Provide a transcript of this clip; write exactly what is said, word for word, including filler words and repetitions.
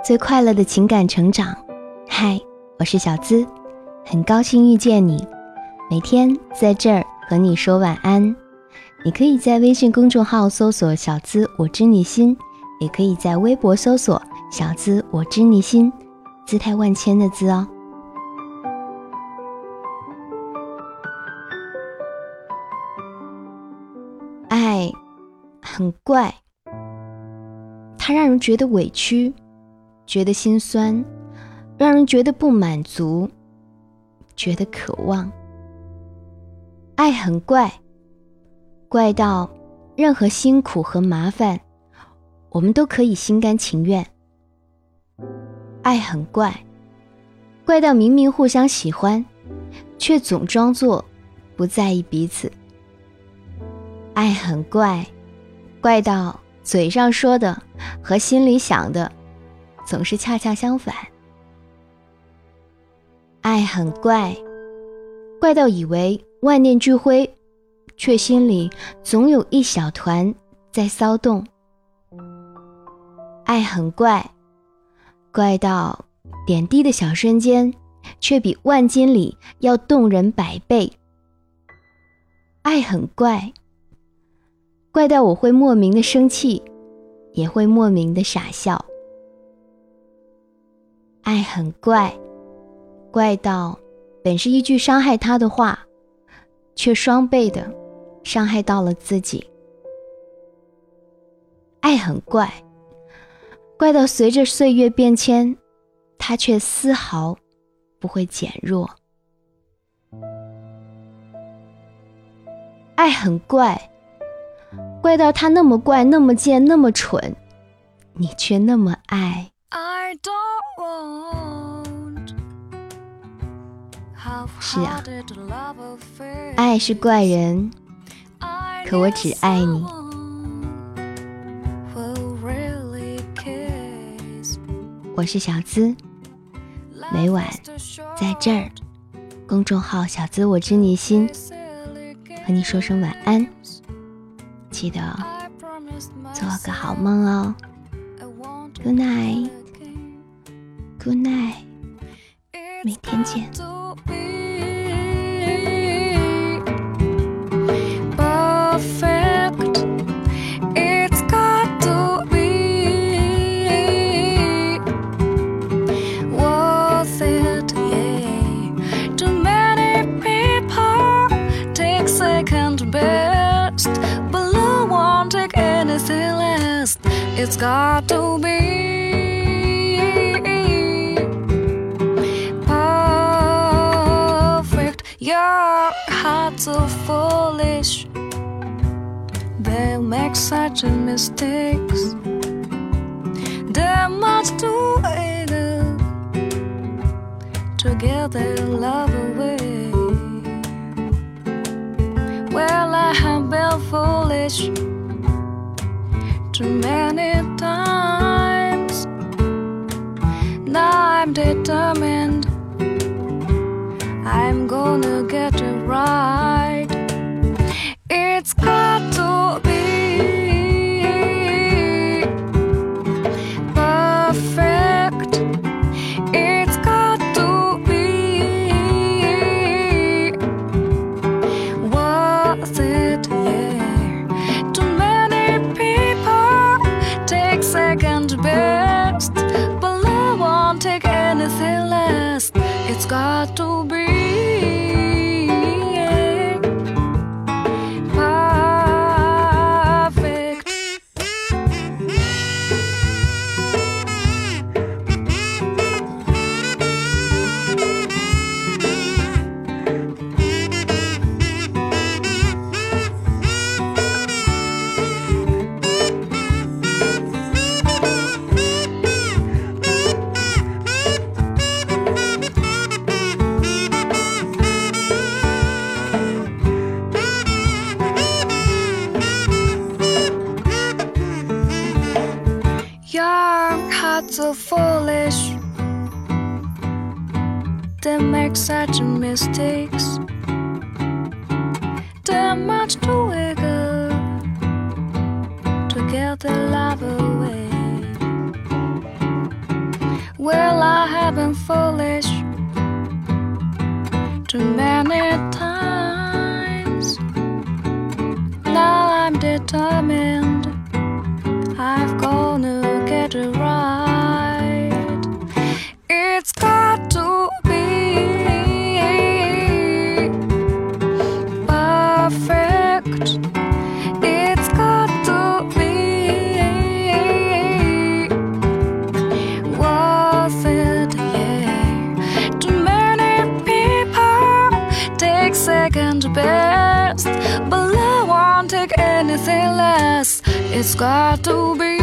最快乐的情感成长。嗨，我是小资，很高兴遇见你，每天在这儿和你说晚安。你可以在微信公众号搜索小资我知你心，也可以在微博搜索小资我知你心，姿态万千的资哦。爱很怪，它让人觉得委屈，觉得心酸，让人觉得不满足，觉得渴望。爱很怪，怪到任何辛苦和麻烦我们都可以心甘情愿。爱很怪，怪到明明互相喜欢，却总装作不在意彼此。爱很怪，怪到嘴上说的和心里想的总是恰恰相反。爱很怪，怪到以为万念俱灰，却心里总有一小团在骚动。爱很怪，怪到点滴的小瞬间，却比万金里要动人百倍。爱很怪，怪到我会莫名的生气，也会莫名的傻笑。爱很怪，怪到本是一句伤害他的话，却双倍的伤害到了自己。爱很怪，怪到随着岁月变迁，它却丝毫不会减弱。爱很怪，怪到他那么怪，那么贱，那么蠢，你却那么爱。 I don't want 是啊，爱是怪人，可我只爱你。我是小资，每晚在这儿公众号小资我知你心和你说声晚安，记得做个好梦哦。 Good night Good night， 明天见。 It's got to be perfect. Your heart's so foolish. They make such mistakes. They're much too eager to give their love away. Well, I have been foolish too many times. Now I'm determined, I'm gonna get it right. It's got to be perfect. It's got to be worth it, yeah. Too many people take second best, but love won't take anything less. It's got to be perfect. Young hearts so foolish, they make such mistakes. They're much too eager to give their love away. Well, I have been foolish too many times. Now I'm determined, I've gonna get it right. It's got to be perfect. It's got to be worth it, yeah. Too many people take second best, but I won't take anything less. It's got to be